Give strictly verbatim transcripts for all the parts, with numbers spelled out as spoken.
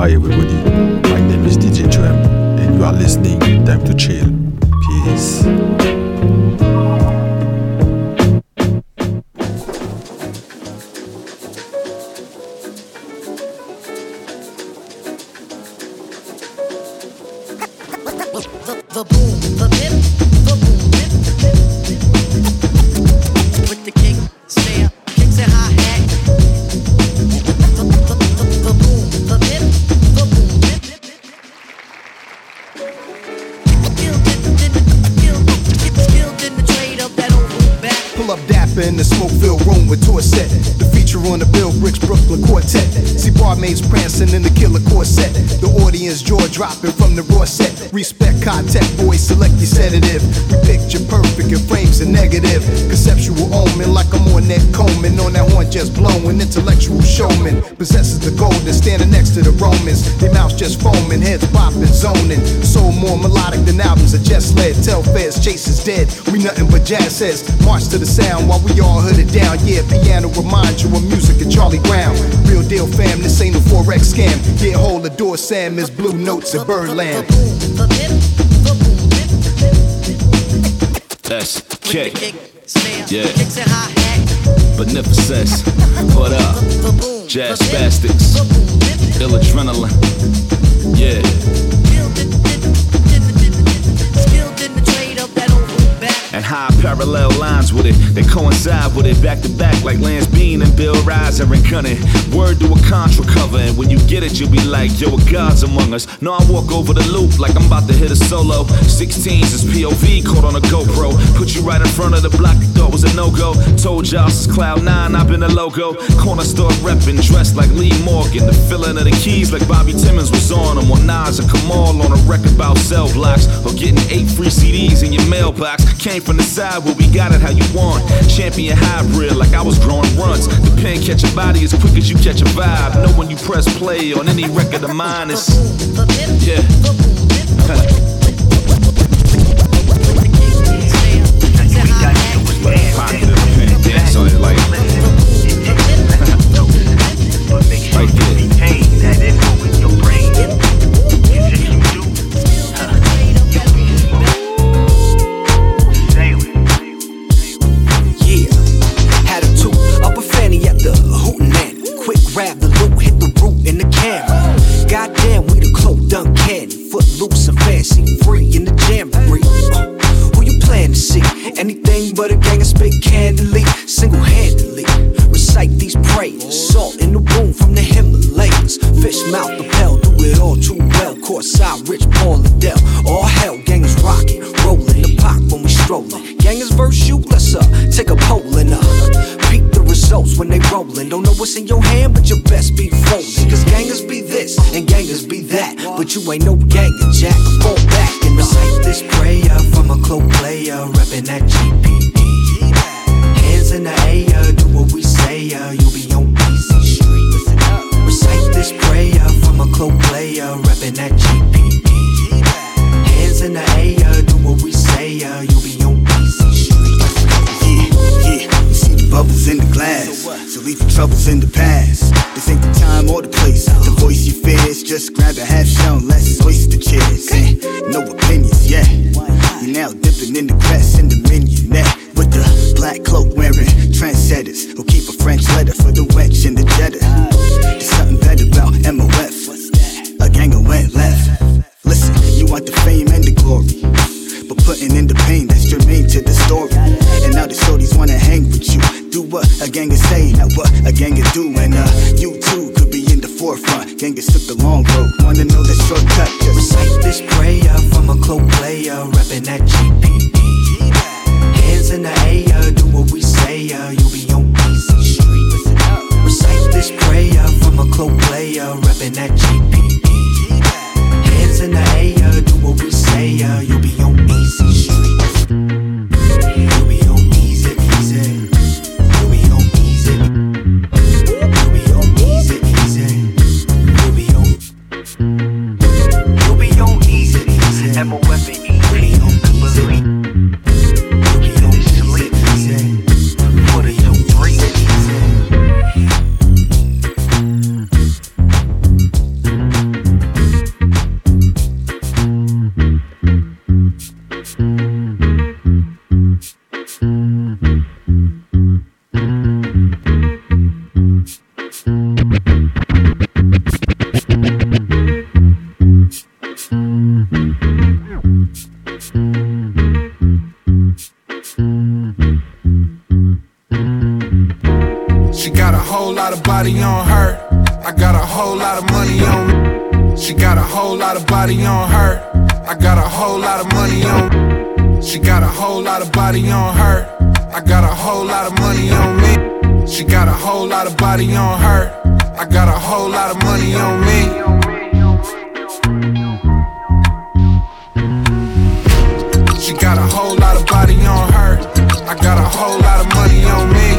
Hi everybody, my name is D J Tram and you are listening Time to Chill. Peace. The boom, the dip, the boom, dip, with the kick, snare, kicks and hi-hat. The, the, the, the boom, the dip, the boom, dip. Skilled in the trade of that old room back. Pull up dapper in the smoke-filled room with Torset. The feature on the Bill Bricks Brooklyn Quartet. See barmaids prancing in the killer corset. The audience jaw dropping from the raw set. Respect contact, boys, select your sedative. We picture perfect and frames a negative. Conceptual omen like I'm on that Coleman. On that horn just blowing, intellectual showman. Possesses the golden, standing next to the Romans. Their mouths just foaming, heads bopping, zoning. Soul more melodic than albums are just led. Tell feds, Chase is dead. We nothing but jazz says. March to the sound while we all hooded down. Yeah, piano remind you of music and Charlie Brown. Real deal fam, this ain't a forex scam. Yeah, hold the door, Sam is blue notes at Birdland. That's K. Yeah. Beneficence. What up? Jazz Spastics. Ill Adrenaline. Yeah. And high parallel lines with it, they coincide with it, back to back like Lance Bean and Bill Riser and Cunning. Word to a Contra cover, and when you get it, you'll be like, yo, a God's among us. No, I walk over the loop like I'm about to hit a solo. sixteens is P O V, caught on a GoPro. Put you right in front of the block, you thought was a no-go. Told y'all since Cloud nine, I've been a logo. Corner store reppin', dressed like Lee Morgan. The filling of the keys like Bobby Timmons was on them. Or Nas or Kamal on a record about cell blocks. Or getting eight free C Ds in your mailbox. Came from the side where we got it how you want. Champion hybrid like I was growing runs. The pen catch a body as quick as you catch a vibe. Know when you press play on any record of mine is yeah. Positive pen dance on it like right there. Grab the loot, hit the root in the camera. Goddamn, we the cloak done candy. Footloose and fancy, free in the jamboree. Uh, who you plan to see? Anything but a gang of spit candidly, single-handedly. Recite these prayers. Salt in the room from the Himalayas. Fish mouth the pell, do it all too well. Courtside, Rich Paul Adele. All hell, gang is rocking, rolling the pot when we strolling. Gang is verse you, let's uh take a poll and uh peep the results when they rollin'. Don't know what's in your hand, but your best be folding. Cause gangers be this and gangers be that, but you ain't no ganger, Jack. Fall back and recite this prayer from a cloak player, reppin' that G P D. Hands in the air, do what we say, uh, you'll be on easy street. Recite this prayer from a cloak player, reppin' that G P D. Hands in the air, do what we say, uh, you'll be on easy street. Yeah, yeah. Bubbles in the glass, so leave your troubles in the past. This ain't the time or the place to voice your fears. Just grab a half shell, let's oyster chairs. Eh, no opinions, yeah. You're now dipping in the grass in the mignonette with the black cloak wearing trendsetters who keep a French letter for the wench in the Jetta. There's something better about M O F. A ganger went left. Listen, you want the fame and the glory, but putting in the pain that's germane to the story. And now the shorties wanna hang with you. Do what a ganger say, not what a ganger do. And uh, you too could be in the forefront. Gangers took the long road, wanna know the shortcut. Just recite this prayer from a cloak player, reppin' that G P D. Hands in the air, do what we say, uh, you'll be on easy street. Recite this prayer from a cloak player, reppin' that G P D. Hands in the air, do what we say, uh, you'll be on easy street. You'll be on easy, easy. You'll be on easy. You'll be on easy, easy. You'll be on. You'll be on easy, easy. M O F and E. You'll be on easy. You'll be on sleep, easy. For the young breathe, easy. She got a whole lot of body on her. I got a whole lot of money on me. She got a whole lot of body on her. I got a whole lot of money on me. She got a whole lot of body on her. I got a whole lot of money on me. She got a whole lot of body on her. I got a whole lot of money on me. She got a whole lot of body on her. I got a whole lot of money on me.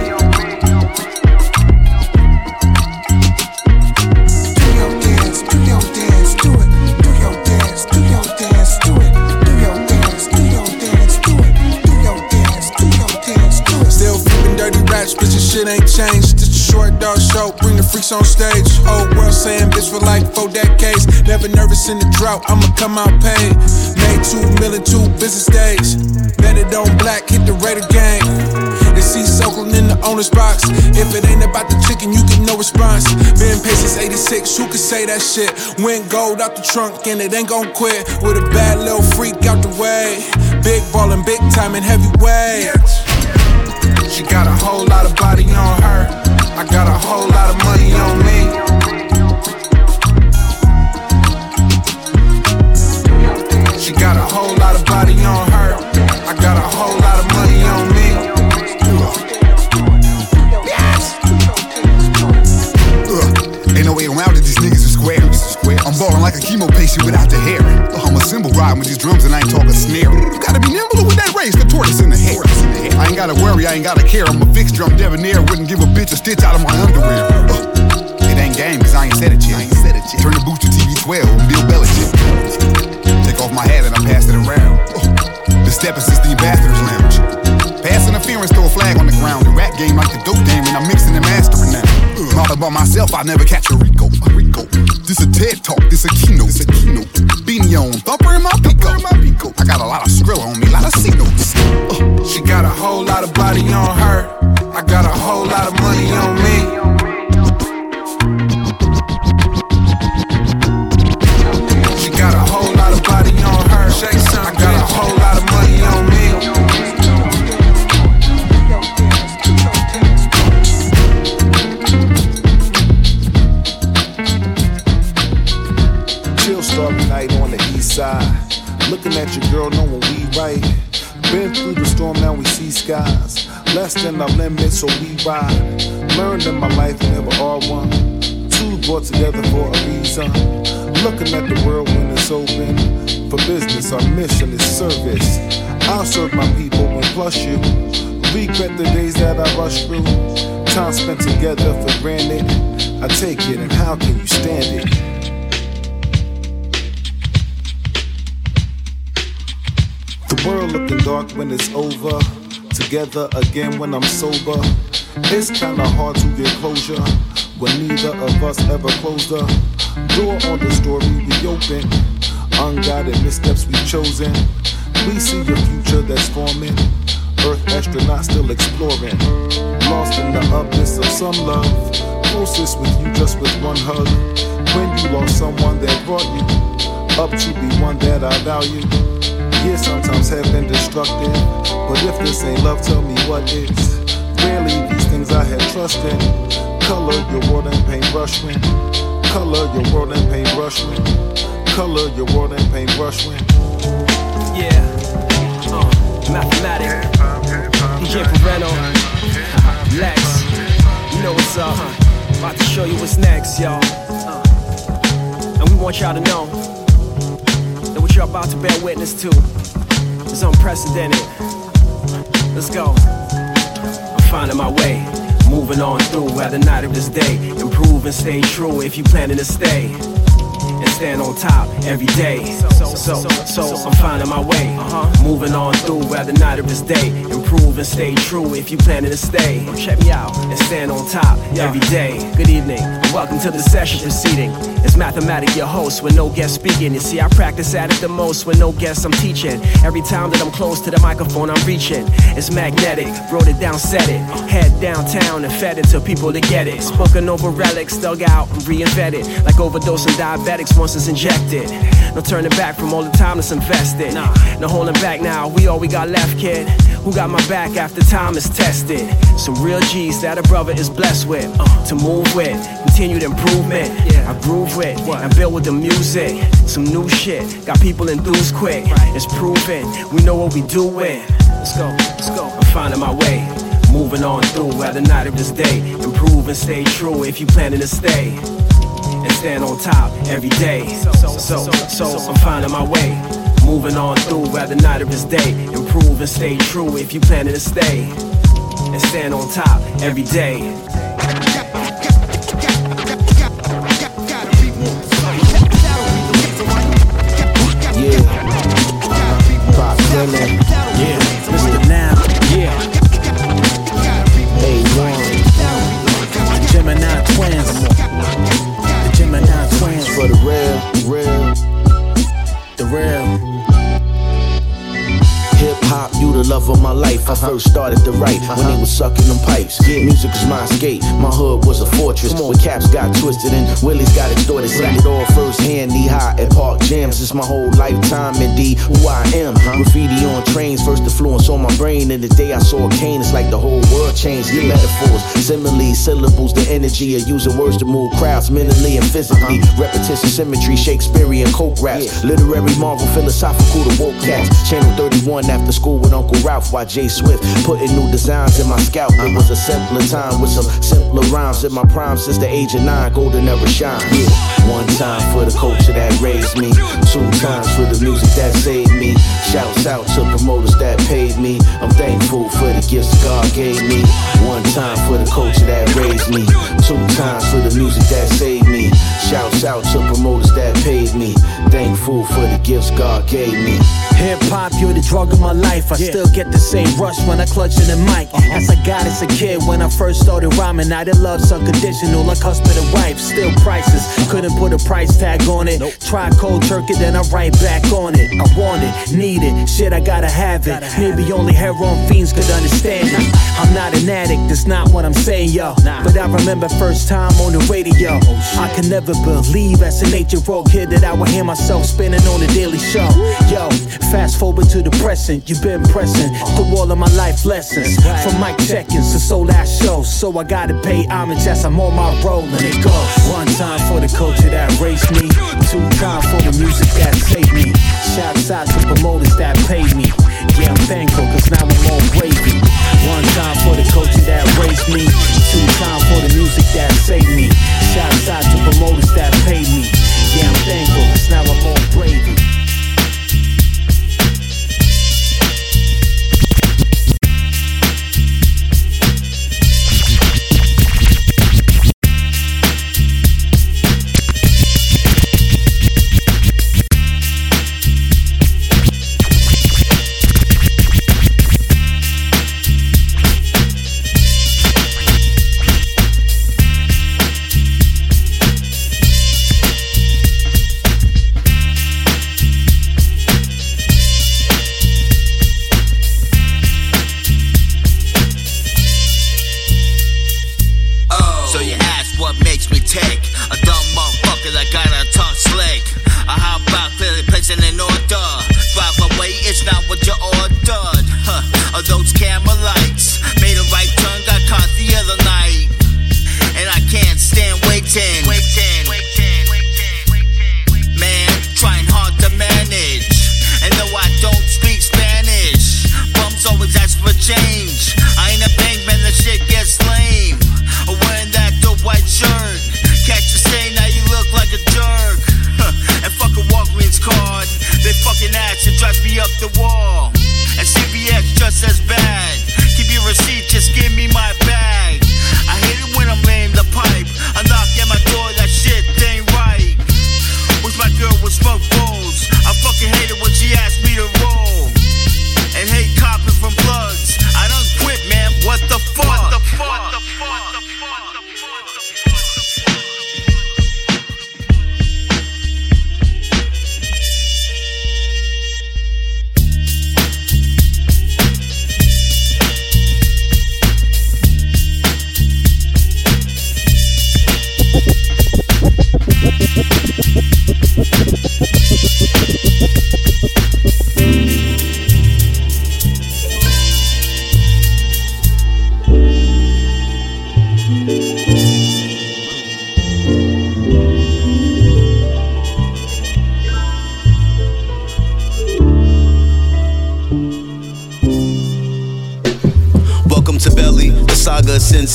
Do your dance, do your dance, do it. Do your dance, do your dance, do it. Do your dance, do your dance, do it. Do your dance, do your dance, do it. Still flipping dirty raps, bitch, this shit ain't changed. Just a short dog show, bring the freaks on stage. Whole world saying bitch for like four decades. Never nervous in the drought, I'ma come out paid. Made two million, two business days. Bet it on black, hit the Raider gang. It's East Oakland in the owner's box. If it ain't about the chicken, you get no response. Been paid since eighty-six, who could say that shit? Went gold out the trunk and it ain't gon' quit. With a bad little freak out the way. Big ballin', big time and heavyweight. She got a whole lot of body on her. I got a whole lot of money on me. She got a whole lot of body on her. I got a whole lot of money on me. Uh, ain't no way around it, these niggas are square. I'm ballin' like a chemo patient without the hair. Uh, I'm a cymbal riding with these drums and I ain't talking snare. You gotta be nimble with that race, the tortoise in the hair. I ain't gotta worry, I ain't gotta care. I'm a fixed drum debonair, wouldn't give a bitch a stitch out of my underwear. Uh, it ain't game, cause I ain't said it yet. Turn the boost to T V twelve, I'm Bill Belichick. Take off my hat and I pass it around. Uh, the stepping since the ambassador's lounge. Pass interference, throw a flag on the ground. The rap game like the dope game, and I'm mixing and mastering now. Uh, all about myself, I never catch a Rico. A Rico. This a TED talk, this a keynote. This a keynote. Beanie on, thumper in my pico. In my pico. I got a lot of Skrilla on me, a lot of C notes. Uh, she got a whole lot of body on her. I got a whole lot of money on me. She got a whole lot of body on her. I got a whole lot of money on me. Chill starry night on the east side. Looking at your girl knowing we right. Been through the storm, now we see skies. Less than our limit, so we ride. Learned in my life, never are one. Two brought together for a reason. Looking at the world when it's open. For business, our mission is service. I'll serve my people and plus you. Regret the days that I rushed through. Time spent together for granted. I take it, and how can you stand it? The world looking dark when it's over. Together again when I'm sober. It's kinda hard to get closure when neither of us ever closed the door on the story we open. Unguided missteps we've chosen. We see a future that's forming. Earth astronauts still exploring. Lost in the abyss of some love. Closest with you just with one hug. When you lost someone that brought you up to be one that I value. Yeah, sometimes have been destructive. But if this ain't love, tell me what is. Rarely these things I had trust in. Color your world and paintbrush when. Color your world and paintbrush when. Color your world and paintbrush when. Yeah, uh, mathematic. D J Perreno, Lex, you know what's up. About to show you what's next, y'all. Uh, and we want y'all to know that what you're about to bear witness to is unprecedented. Let's go. I'm finding my way, moving on through at the night of this day. Improve and stay true if you planning to stay. And stand on top every day. So, so, so I'm finding my way, uh-huh. Moving on through at the night of this day. Improve and stay true if you planning to stay. Check me out and stand on top every day. Good evening, and welcome to the session proceeding. It's Mathematic, your host, with no guest speaking. You see, I practice at it the most with no guests I'm teaching. Every time that I'm close to the microphone, I'm reaching. It's magnetic, wrote it down, said it. Head downtown and fed it to people to get it. Spoken over relics, dug out and reinvented. Like overdosing diabetics drugs once it's injected. No turning back from all the time that's invested. No holding back now, we all we got left, kid. Who got my back after time is tested? Some real G's that a brother is blessed with. Uh, to move with, continued improvement. I groove with, and build with the music. Some new shit, got people enthused quick. It's proven, we know what we doing. Let's go, let's go. I'm finding my way, moving on through at the night of this day. Improve and stay true if you planning to stay. And stand on top every day. So, so, so I'm finding my way, moving on through at the night of this day. Improve and stay true if you planning to stay. And stand on top every day. Yeah, Pop Dylan. Yeah, Mister Now. Yeah, A one. Gemini Twins. The Gemini Twins. For the real, real. The real. Hip hop, you the love of my life. I first started to write when they was sucking them pipes. Music was my escape. My hood was a fortress where caps got twisted and willies got extorted. Seen it all firsthand, knee high at park jams. It's my whole lifetime, indeed, who I am. Graffiti on trains, first influence on my brain. And the day I saw Kane, it's like the whole world changed. Your metaphors, similes, syllables, the energy of using words to move crowds mentally and physically. Repetition, symmetry, Shakespearean coke raps. Literary marvel, philosophical to woke cats. Channel thirty-one after school with Uncle Ralph while Jay Swift putting new designs in my scalp. It was a simpler time with some simpler rhymes. In my prime since the age of nine, golden era shine. Yeah. One time for the culture that raised me, two times for the music that saved me. Shouts out to promoters that paid me. I'm thankful for the gifts God gave me. One time for the culture that raised me, two times for the music that saved me. Shouts out to promoters that paid me. Thankful for the gifts God gave me. Hip hop, you're the drug of my life. I yeah. still get the same rush when I clutch in the mic. Uh-huh. As I got as a kid when I first started rhyming. Now the love's unconditional like husband and wife. Still priceless, couldn't put a price tag on it. Nope. Try cold turkey, then I write back on it. I want it, need it, shit I gotta have it. Gotta Maybe have only heroin fiends could understand it. I'm not an addict, that's not what I'm saying, yo. Nah. But I remember first time on the radio. Oh, I can never believe as an eight-year-old kid that I would hear myself spinning on the Daily Show. Yo, fast forward to the present, you've been pressing through all of my life lessons. From mic check-ins to sold out shows. So I gotta pay homage as I'm on my roll and it goes. One time for the culture that raised me, two times for the music that saved me. Shouts out to promoters that paid me. Yeah, I'm thankful cause now I'm all gravy. One time for the culture that raised me, two times for the music that saved me. Shouts out to promoters that paid me. Yeah, I'm thankful cause now I'm all gravy.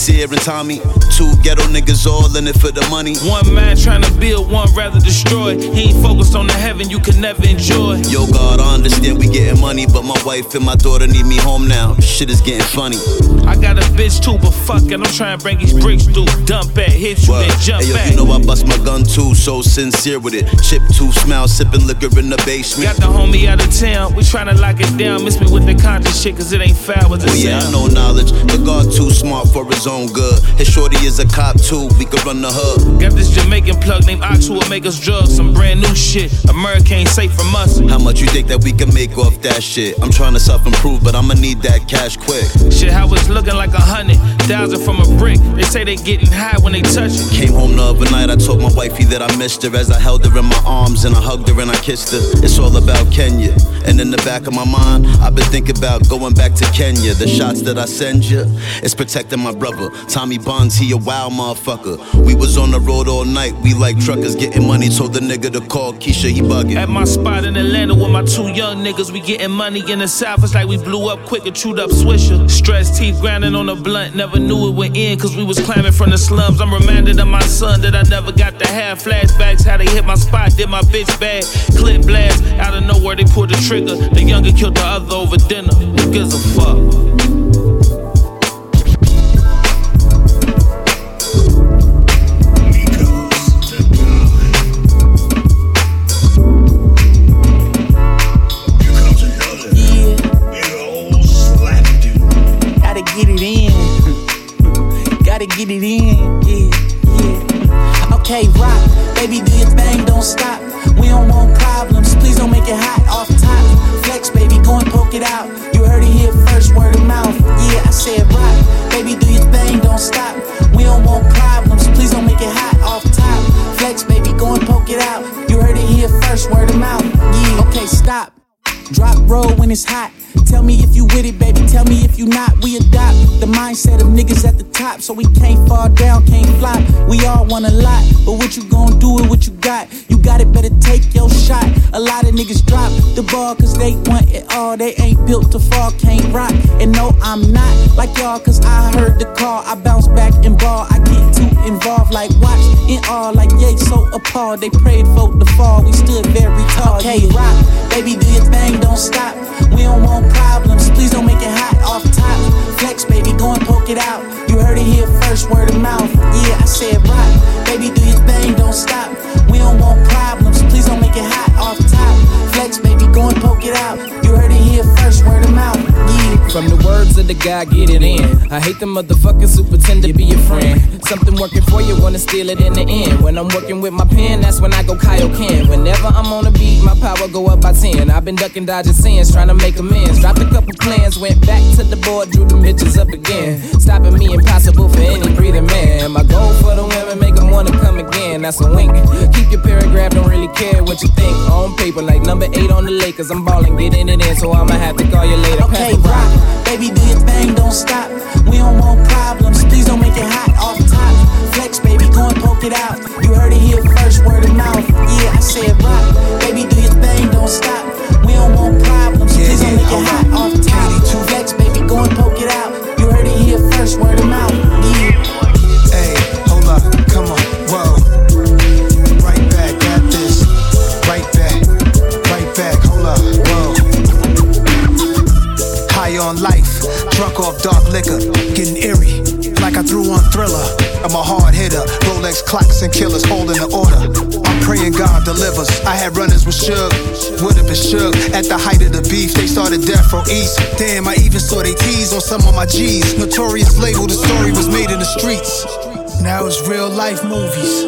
Sincere and Tommy, two ghetto niggas all in it for the money. One man trying to build, one rather destroy. He ain't focused on the heaven you can never enjoy. Yo God, I understand we getting money, but my wife and my daughter need me home now. Shit is getting funny. I got a bitch too, but fuck it, I'm trying to bring these bricks through. Dump at, hit you, Word. then jump hey, yo, back. You know I bust my gun too, so sincere with it. Chip two, smile, sipping liquor in the basement. Got the homie out of town, we tryna lock it down. Miss me with the conscious shit, cause it ain't foul with the oh, yeah, sound. I know knowledge. The God too smart for his own good. His shorty is a cop too, we could run the hood. Got this Jamaican plug named Ox who will make us drugs. Some brand new shit, America ain't safe from us. How much you think that we can make off that shit? I'm trying to self-improve, but I'ma need that cash quick. Shit, how it's looking like a hundred thousand from a brick. They say they getting high when they touch it. Came home the other night, I told my wifey that I missed her as I held her in my arms and I hugged her and I kissed her. It's all about Kenya, and in the back of my mind, I've been thinking about going back to Kenya. The shots that I send you, it's protecting my brother. Tommy Bonds, he a wild motherfucker. We was on the road all night, we like truckers getting money. Told the nigga to call Keisha, he bugging. At my spot in Atlanta with my two young niggas, we getting money in the South. It's like we blew up quick and chewed up Swisher. Stress teeth grinding on the blunt, never knew it would end cause we was climbing from the slums. I'm reminded of my son that I never got to have. Flashbacks, how they hit my spot, did my bitch bad. Clip blast, out of nowhere they pulled the trigger. The younger killed the other over dinner. Who gives a fuck? Get it in, gotta get it in, yeah, yeah. Okay, rock, baby, do your thing, don't stop. We don't want problems, please don't make it hot off top. Flex, baby, go and poke it out. You heard it here first, word of mouth. Yeah, I said rock, baby, do your thing, don't stop. We don't want problems, please don't make it hot off top. Flex, baby, go and poke it out. You heard it here first, word of mouth. Yeah, okay, stop. Drop roll when it's hot. Tell me if you with it, baby, tell me if you not. We adopt the mindset of niggas at the top, so we can't fall down, can't flop. We all want a lot, but what you gon' do with what you got? You got it, better take your shot. A lot of niggas drop the ball cause they want it all. They ain't built to fall, can't rock. And no, I'm not like y'all cause I heard the call. I bounce back and ball, I get too involved like watch in all. Like yay, so appalled, they prayed for the fall. We stood very tall, okay, yeah. Rock, baby, do your thing, don't stop. We don't want problems, please don't make it hot off top. Flex, baby, go and poke it out. You heard it here first, word of mouth. Yeah, I said rock, baby, do your thing, don't stop. We don't want problems, please don't make it hot off top. Flex, baby, go and poke it out. You heard it here first, word of mouth. Yeah. From the words of the guy, get it in. I hate the motherfucking superintendent, be your friend. Something working for you, wanna steal it in the end. When I'm working with my pen, that's when I go Kaioken. Whenever I'm on a beat, my power go up by ten. I've been ducking, dodging sins, trying to make amends. Dropped a couple plans, went back to the board, drew the bitches up again. Stopping me impossible for any breathing man. My goal for the women, make them wanna come again. That's a wink. Keep your paragraph, don't really care what you think. On paper, like number eight on the Lakers, I'm balling, getting it in, so I'ma have to call you later. Okay, rock, baby, do your thing, don't stop. We don't want problems, please don't make it hot off top. Flex, baby, go and poke it out. You heard it here first, word of mouth. Yeah, I said rock, baby, do your thing, don't stop. We don't want problems, please don't make it hot off top. Flex, baby, go and poke it out. You heard it here first, word of mouth. Yeah. Hey, hold up, come on, whoa. Right back at this, right back, right back, hold up, whoa. High on life, drunk off dark liquor, getting eerie, like I threw on Thriller. I'm a hard hitter, Rolex clocks and killers holding the order. I'm praying God delivers. I had runners with Suge, would've been shook. At the height of the beef, they started Death Row East. Damn, I even saw they tease on some of my G's. Notorious label, the story was made in the streets. Now it's real life movies.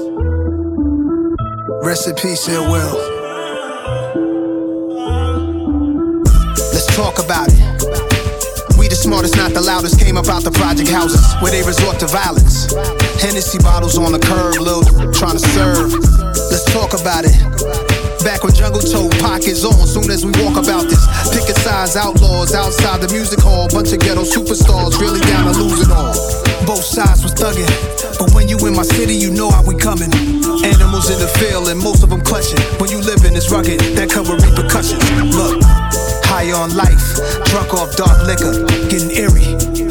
Rest in peace, Ill Will. Let's talk about it. We the smartest, not the loudest, came about the project houses where they resort to violence. Hennessy bottles on the curb, Lil trying to serve. Let's talk about it. Back when Jungle told pockets on, soon as we walk about this. Picket signs, outlaws outside the music hall. Bunch of ghetto superstars, really down to lose it all. Both sides was thugging, but when you in my city, you know how we coming. Animals in the field and most of them clutching. When you live in this rugged, that come with repercussions. Look, high on life, drunk off dark liquor, getting eerie,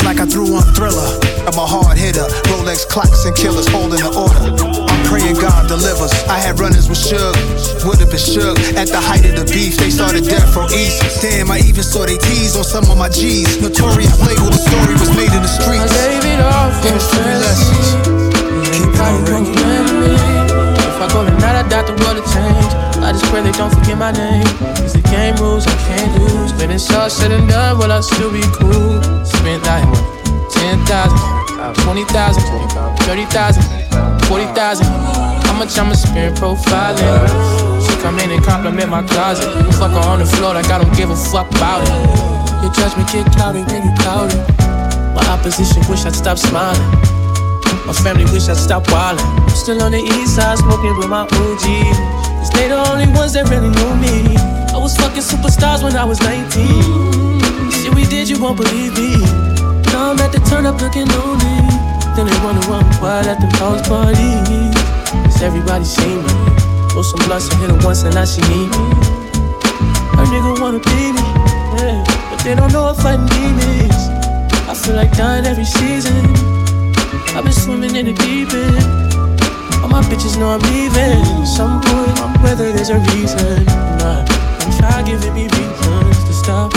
like I threw on Thriller. I'm a hard hitter, Rolex clocks and killers holding the order. I'm praying God delivers. I had runners with Suge, would've been shook. At the height of the beef, they started death from East. Damn, I even saw they tease on some of my G's. Notorious label, the story was made in the streets. I gave it all for three lessons. Keep it remember me. If I go tonight, I doubt the world will change. I just pray they don't forget my name. It's the game rules, I can't lose. When it's all said and done, will I still be cool? Spent like ten thousand, twenty thousand, thirty thousand, forty thousand. How much I'ma spend profiling? She come in and compliment my closet. Fuck her on the floor like I don't give a fuck about it. Your judgment get clouded when you clouded. My opposition wish I'd stop smiling. My family wish I'd stop wildin'. I'm still on the east side smoking with my O Gs. Cause they the only ones that really knew me. I was fucking superstars when I was nineteen. Shit we did, you won't believe me. Now I'm at the turn up looking lonely. Then they wonder why I'm quiet at the house party. Cause everybody see me. Throw some blunts and hit her once and now she need me. Her nigga wanna be me, yeah, but they don't know I'm fighting demons. I feel like dying every season. I've been swimming in the deep end. All my bitches know I'm leaving. Some point, whether there's a reason. Nah, don't try giving me reasons to stop.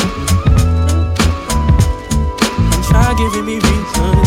Don't try giving me reasons.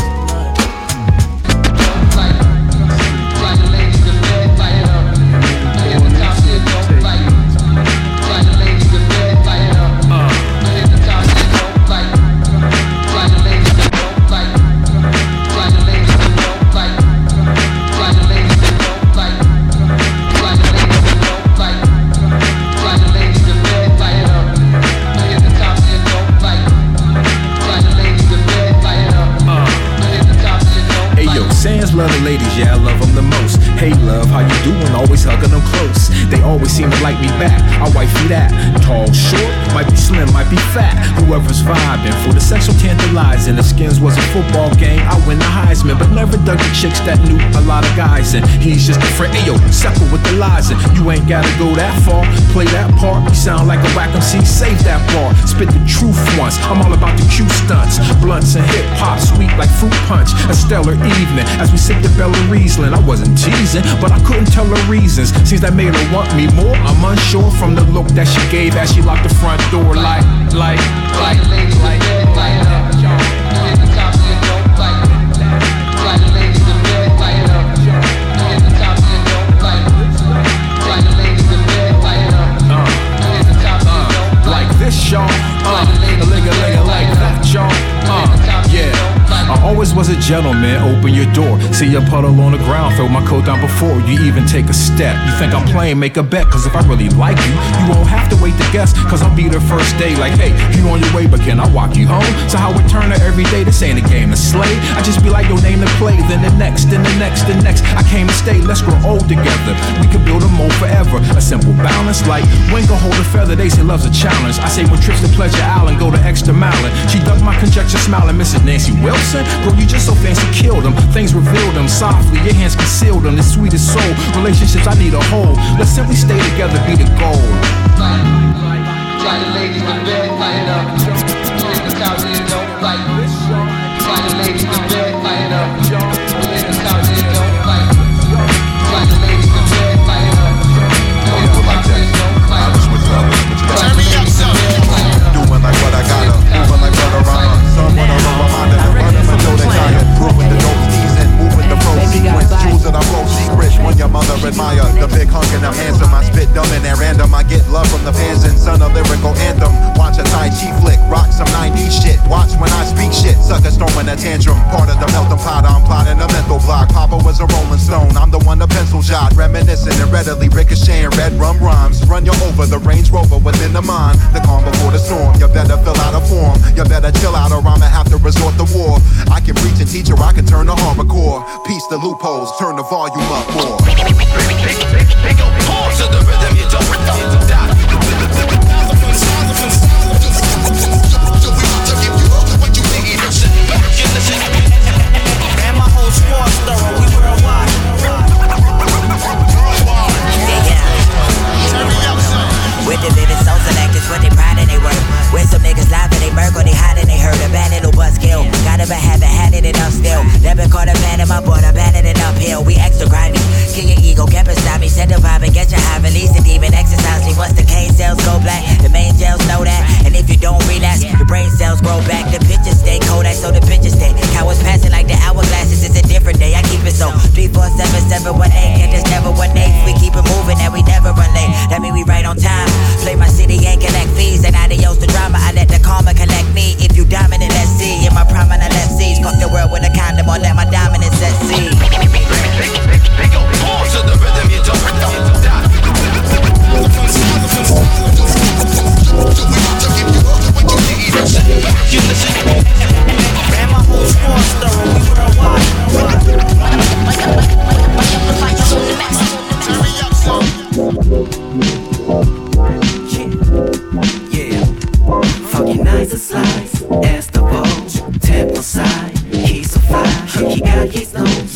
Love the ladies, yeah, I love them the most. Hey love, how you doing? Always hugging them close. They always seem to like me back. I wifey that. Tall, short, might be slim, might be fat. Whoever's vibing for the sexual tantalizing. The skins was a football game. I win the Heisman, but never dug the chicks that knew a lot of guys. And he's just a friend. Ayo, sucker with the lies. And you ain't gotta go that far. Play that part. You sound like a whack M C. Save that bar. Spit the truth once. I'm all about the Q stunts. Blunts and hip hop, sweet like fruit punch. A stellar evening as we sip the Bella Riesling. I wasn't teasing, but I couldn't tell her reasons. Seems that made her want me more. I'm unsure from the look that she gave as she locked the front door. Like, like, like, like, like, like that. Like this, y'all. Uh, a ligga, ligga, like that, y'all. Uh, yeah. I always was a gentleman, open your door. See a puddle on the ground, throw my coat down before you even take a step. You think I'm playing, make a bet, cause if I really like you, you won't have to wait to guess, cause I'll be the first day. Like, hey, you on your way, but can I walk you home? So how it turn her every day, this ain't a game to slay. I just be like, your name to play, then the next, then the next, the next. I came to stay, let's grow old together. We could build a mold forever, a simple balance. Like, when go hold a feather, they say love's a challenge. I say when trips to Pleasure Island, go to extra mile. She dug my conjecture, smiling, Missus Nancy Wilson. Girl, you just so fancy, killed them. Things revealed them softly, your hands concealed them. The sweetest soul, relationships I need a hold. Let's simply stay together, be the goal. Fly the ladies to bed, light up. In the couch, they don't fight. Fly the ladies to bed, light up. In the couch, they don't fight. Fly the ladies to bed, light up. In the couch, they don't fight. Turn me up, son. Doing like what I gotta, moving like what around. Someone around my mind and running until they tired. Proving the dope season, moving the pro sequence. Jewels that I blow secrets when your mother admire. The big hunk and I'm handsome. I spit dumb and at random. I get love from the fans and son a lyrical anthem. Watch a Tai Chi flick, rock some nineties shit. Watch when I speak shit, suckers throwing a tantrum. Part of the melting pot, I'm plotting a mental block. Papa was a rolling stone, I'm the one the pencil jot. Reminiscent and readily ricocheting red rum rhymes. Run you over the Range Rover within the mind. The calm before the storm, you better fill out a form. You better chill out or I'ma have to resort to war. I can preach and teach or I can turn the hardcore. Piece the loopholes, turn the volume up more. Pause to the rhythm, you don't stop. And my whole squad's thorough, we worldwide. Yeah, yeah. Turn me up, son. With the vivid souls and actors, what they pride in they work. Where some niggas live and they murk or they hide and they hurt. A bad little buzzkill. Got a bad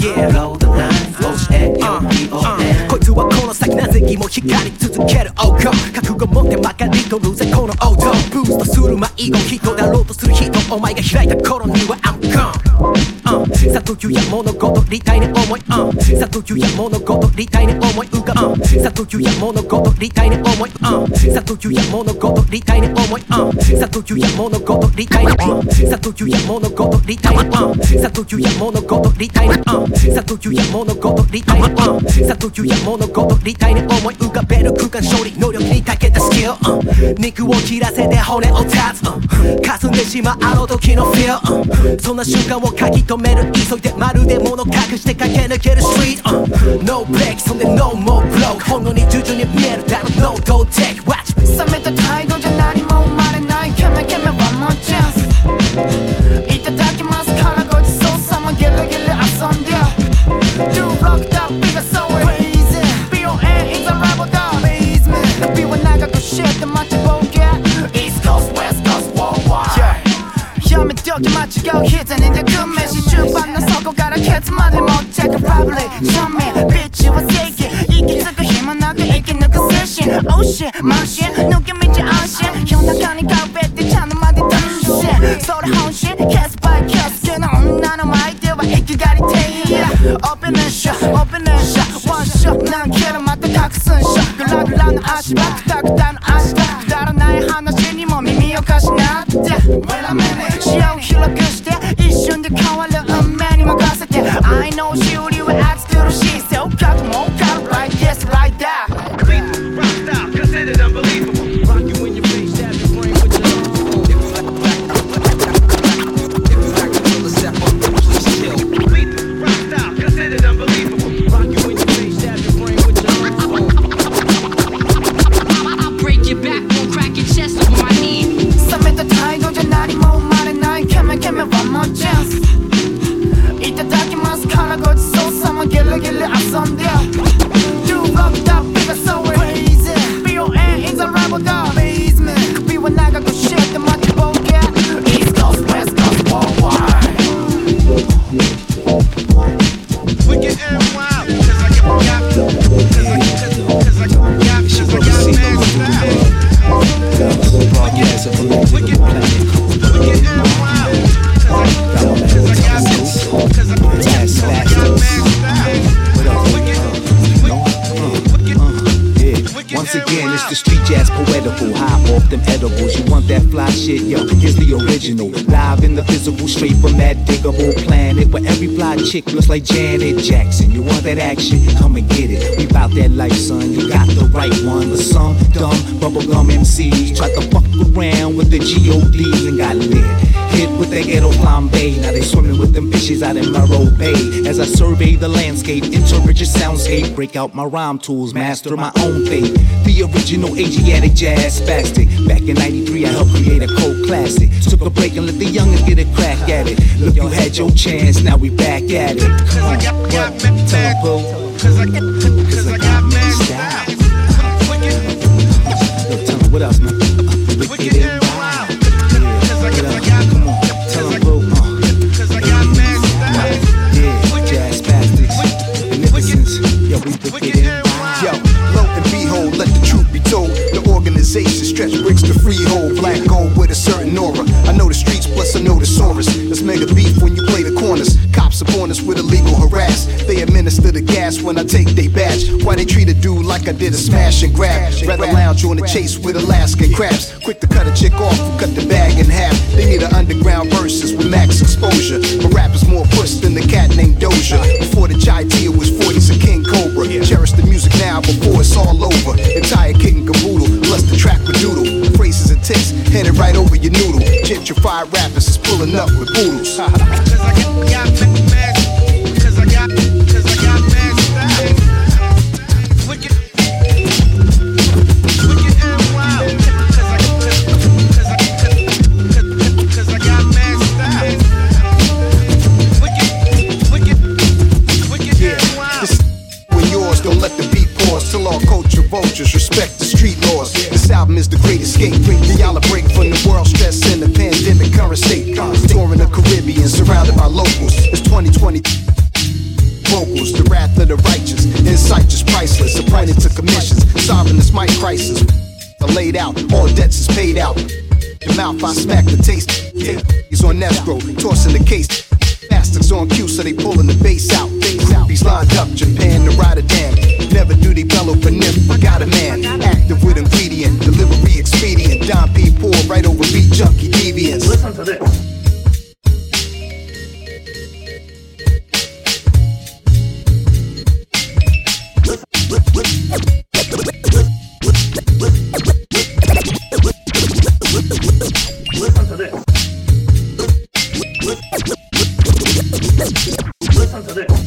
yeah Blow the line flows at your B O N こいつはこの先なぜにも光り続ける Oh go 覚悟持って曲がりとるぜこの王道ブーストする迷子人だろうとする人お前が開いた頃には I'm gone、uh、さというや物事理体に思い、uh、さというや物事理体に思い浮かぶ、uh、さというや物事理体に思い、uh、さというや物事理体に思い、uh、さというや物事理体に、uh、さというや物事理体に、uh、さというや物事理体に、uh、さというや物事理体に、uh、さというや物事理体に思い浮かべる空間勝利能力に長けたスキル、uh、肉を切らせて骨を断つ、uh、霞んでしまうあの時の feel、uh、そんな瞬間を書き留める急いでまるで物隠して駆け抜ける street、uh、No break そんで No more blow ほんのに徐々に見えるだろ No don't take watch 冷めた態度じゃ何も生まれないケメケメ one more chance いただきますからごちそうさまゲレゲレ遊んで Do rock that big so crazy B O N is a rival dog basement 首は長くして待ちぼうけ East Coast West Coast worldwide やめとき間違う膝に抱く飯終盤の底からケツまで持ってくラブリー正面ビッチは正義息つく暇なく生き抜く精神 Oh shit 慢心抜け道安心夜中に壁ってちゃんとまで楽しいそれ本心ケースバイケース好きな女の前では生きがりていやオープンショッオープンショッワンショッ何キロまた隠すんしょグラグラの足場クタクタの足だくだらない話にも耳を貸しなって Wait a minute 視野を広くして一瞬で変わる運命に任せて I know しおりは熱苦しい背をかくもうかる Like this like that Rock style considered unbelievable Rock you in your face stab your brain with your If you like If you like to feel a step up please chill Rock style considered unbelievable Rock you in your face stab your brain with your I'll break your back won't crack your chest over my knee 冷めた態度じゃ何も生まれないケメケメ one more chance いただきますからごちそうさまゲレゲレ遊んで Do rock that big so crazy B O N is a rival dog basement 首は長くして待ちぼうけ East Coast West Coast worldwide Wicked and wild Cause I got Cause I Cause I got Cause I got mad style Wicked Wicked Wicked and wild Cause I got Cause I got mad style Once again, it's the street jazz poetical. High off them edibles. You want that fly shit? Yo, here's the original. Live in the physical, straight from that diggable planet where every fly chick looks like Janet Jackson. You want that action? Come and get it. We bout that life, son. You got the right one. But some dumb bubblegum M Cs tried to fuck around with the G O Ds and got lit. Hit with that ghetto flambe. Now they swimming with them fishes out in Morro Bay. As I survey the landscape, interpret your soundscape, break out my rhyme tools, master my own fate. The original Asiatic jazz spastic. Back in ninety-three, I helped create a cold classic. Took a break and let the youngins get a crack at it. Look, you had your chance, now we back at it. Come on, what? Tell 'em, boo. Cause I got, cause I got mad style. Look, tell 'em, what else, man? Uh, wicked and wild. Yeah, come on, tell 'em, boo. Uh, cause I got mad style. Yeah, jazz spastics. Beneficence. Yo, we wicked and wild. Yo, lo and behold, let the truth be told. The organization stretch bricks to freehold. Black gold with a certain aura. I know the streets, plus I know the Saurus. Let's mega beef when you play the corners. Cops upon us with illegal harass. They administer the gas when I take they badge. Why they treat a dude like I did a smash and grab? Rather lounge on the chase with Alaskan crabs. Quick to cut a chick off and cut the bag in half. They need an underground verses with max exposure. My rap is more push than the cat named Doja. Before the Chai Tia was forties a King Cobra. Cherish the music now before it's all over. Entire kit and caboodle, plus the track with doodle. Phrases and ticks, headed right over your noodle. Gentrified rappers is pulling up with boodles. Cause I got, got mad, cause I got, cause I got mad style. Wicked, wicked and wild. Cause I, cause I, cause, cause I got mad style. Wicked, wicked, wicked and wild. This when yours, don't let the beat pause till all culture vultures respect the street laws. This album is the great escape. Y'all a break from the world stress and the pandemic current state. Touring the Caribbean, surrounded by locals. priceless, appointed to commissions, solving this mic crisis. I laid out, all debts is paid out. The mouth I smack the taste. Yeah, he's on escrow, tossing the case. Bastards on cue, so they pulling the bass out. He's lined up, Japan to Rotterdam. Never do they bellow for nip. Got a man, active with ingredient, delivery expedient. Don P pour right over beat junkie deviants. Listen to this. Listen to this. Listen to this.